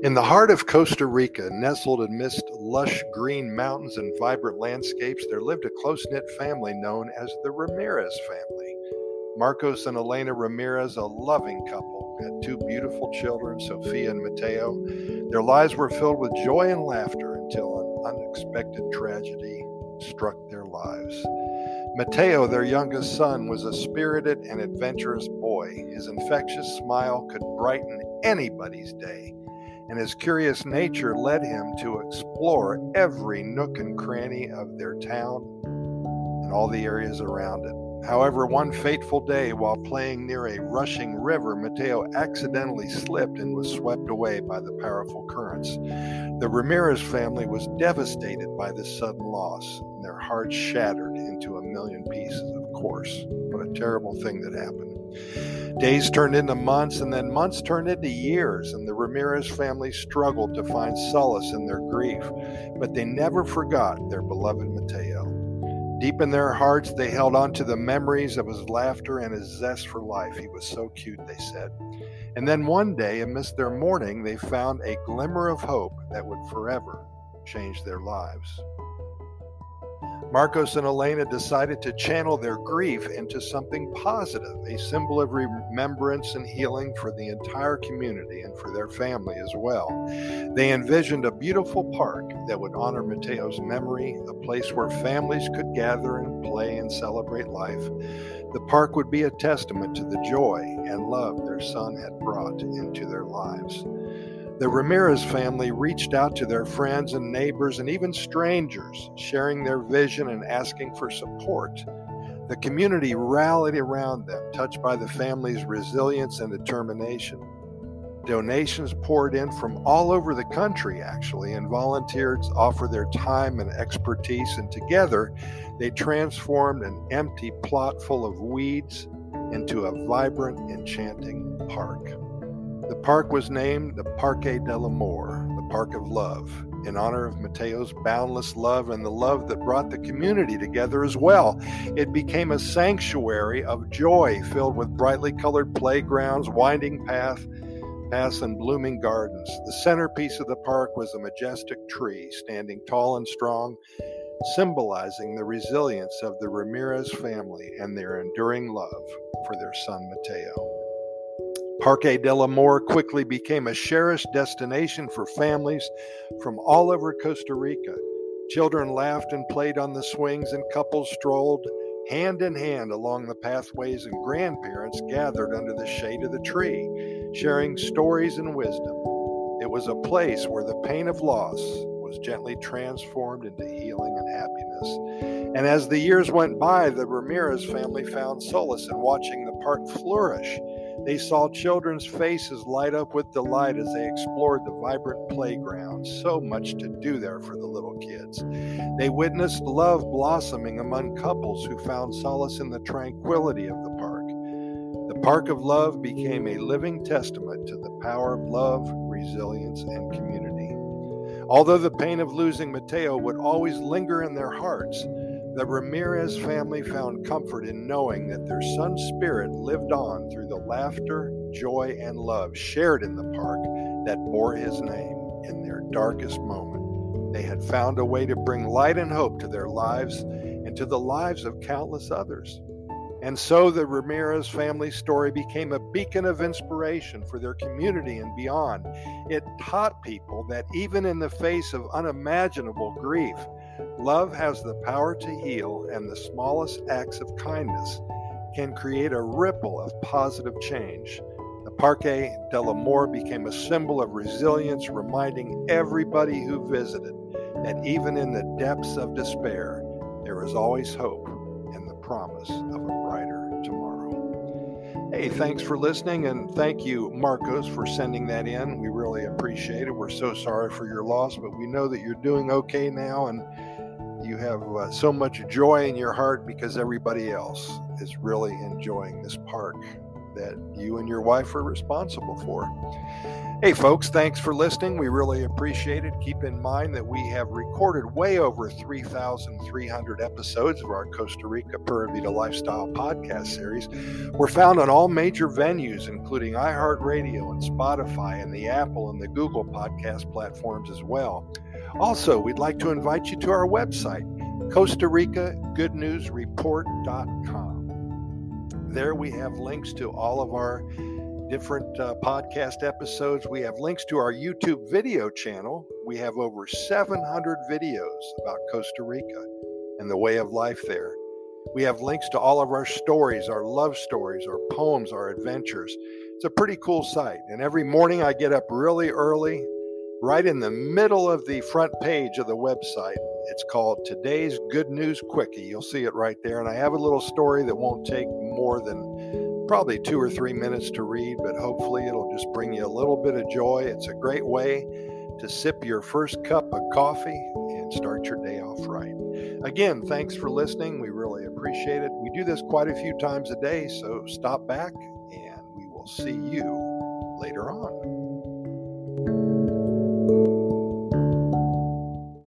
In the heart of Costa Rica, nestled amidst lush green mountains and vibrant landscapes, there lived a close-knit family known as the Ramirez family. Marcos and Elena Ramirez, a loving couple, had two beautiful children, Sofia and Mateo. Their lives were filled with joy and laughter until an unexpected tragedy struck their lives. Mateo, their youngest son, was a spirited and adventurous boy. His infectious smile could brighten anybody's day, and his curious nature led him to explore every nook and cranny of their town and all the areas around it. However, one fateful day, while playing near a rushing river, Mateo accidentally slipped and was swept away by the powerful currents. The Ramirez family was devastated by this sudden loss, and their hearts shattered into a million pieces, of course. What a terrible thing that happened. Days turned into months, and then months turned into years, and the Ramirez family struggled to find solace in their grief, but they never forgot their beloved Mateo. Deep in their hearts, they held on to the memories of his laughter and his zest for life. He was so cute, they said. And then one day, amidst their mourning, they found a glimmer of hope that would forever change their lives. Marcos and Elena decided to channel their grief into something positive, a symbol of remembrance and healing for the entire community and for their family as well. They envisioned a beautiful park that would honor Mateo's memory, a place where families could gather and play and celebrate life. The park would be a testament to the joy and love their son had brought into their lives. The Ramirez family reached out to their friends and neighbors and even strangers, sharing their vision and asking for support. The community rallied around them, touched by the family's resilience and determination. Donations poured in from all over the country, actually, and volunteers offered their time and expertise, and together they transformed an empty plot full of weeds into a vibrant, enchanting park. The park was named the Parque del Amor, the Park of Love, in honor of Mateo's boundless love and the love that brought the community together as well. It became a sanctuary of joy filled with brightly colored playgrounds, winding paths, and blooming gardens. The centerpiece of the park was a majestic tree standing tall and strong, symbolizing the resilience of the Ramirez family and their enduring love for their son Mateo. Parque del Amor quickly became a cherished destination for families from all over Costa Rica. Children laughed and played on the swings, and couples strolled hand in hand along the pathways, and grandparents gathered under the shade of the tree, sharing stories and wisdom. It was a place where the pain of loss was gently transformed into healing and happiness. And as the years went by, the Ramirez family found solace in watching the park flourish. They saw children's faces light up with delight as they explored the vibrant playground. So much to do there for the little kids. They witnessed love blossoming among couples who found solace in the tranquility of the park. The Park of Love became a living testament to the power of love, resilience, and community. Although the pain of losing Mateo would always linger in their hearts, the Ramirez family found comfort in knowing that their son's spirit lived on through the laughter, joy, and love shared in the park that bore his name. In their darkest moment, they had found a way to bring light and hope to their lives and to the lives of countless others. And so the Ramirez family story became a beacon of inspiration for their community and beyond. It taught people that even in the face of unimaginable grief, love has the power to heal, and the smallest acts of kindness can create a ripple of positive change. The Parque del Amor became a symbol of resilience, reminding everybody who visited that even in the depths of despair, there is always hope and the promise of a brighter tomorrow. Hey, thanks for listening, and thank you, Marcos, for sending that in. We really appreciate it. We're so sorry for your loss, but we know that you're doing okay now, and you have so much joy in your heart because everybody else is really enjoying this park. that you and your wife are responsible for. Hey folks, thanks for listening. We really appreciate it. Keep in mind that we have recorded way over 3,300 episodes of our Costa Rica Pura Vida Lifestyle podcast series. We're found on all major venues, including iHeartRadio and Spotify and the Apple and the Google podcast platforms as well. Also, we'd like to invite you to our website, Costa Rica Good News Report.com. There we have links to all of our different podcast episodes. We have links to our YouTube video channel. We have over 700 videos about Costa Rica and the way of life there. We have links to all of our stories, our love stories, our poems, our adventures. It's a pretty cool site. And every morning I get up really early, right in the middle of the front page of the website. It's called Today's Good News Quickie. You'll see it right there. And I have a little story that won't take more than probably 2 or 3 minutes to read, but hopefully it'll just bring you a little bit of joy. It's a great way to sip your first cup of coffee and start your day off right. Again, thanks for listening. We really appreciate it. We do this quite a few times a day, so stop back and we will see you later on.